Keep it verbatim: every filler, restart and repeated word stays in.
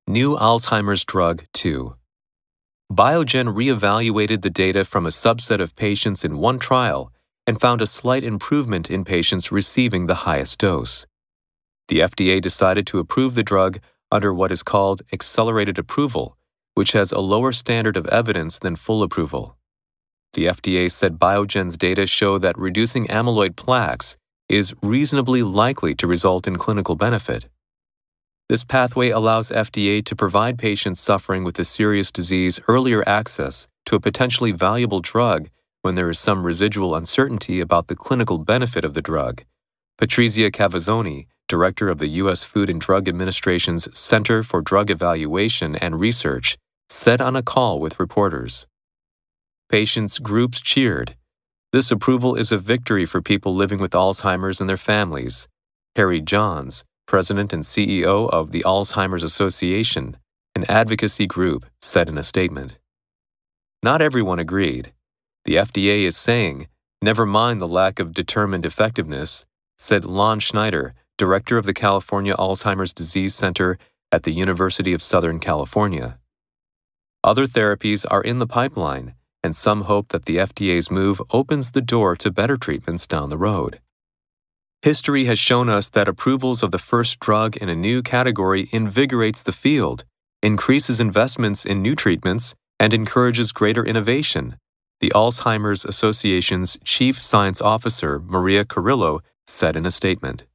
New Alzheimer's Drug two. Biogen reevaluated the data from a subset of patients in one trial and found a slight improvement in patients receiving the highest dose. The F D A decided to approve the drug under what is called accelerated approval, which has a lower standard of evidence than full approval. The F D A said Biogen's data show that reducing amyloid plaques is reasonably likely to result in clinical benefit. This pathway allows F D A to provide patients suffering with a serious disease earlier access to a potentially valuable drug when there is some residual uncertainty about the clinical benefit of the drug. Patrizia Cavazzoni, director of the U S Food and Drug Administration's Center for Drug Evaluation and Research, said on a call with reporters. Patients' groups cheered. This approval is a victory for people living with Alzheimer's and their families. Harry Johns, president and C E O of the Alzheimer's Association, an advocacy group, said in a statement. Not everyone agreed. The F D A is saying, never mind the lack of determined effectiveness, said Lon Schneider, director of the California Alzheimer's Disease Center at the University of Southern California. Other therapies are in the pipeline, and some hope that the F D A's move opens the door to better treatments down the road. History has shown us that approvals of the first drug in a new category invigorates the field, increases investments in new treatments, and encourages greater innovation, the Alzheimer's Association's chief science officer, Maria Carrillo, said in a statement.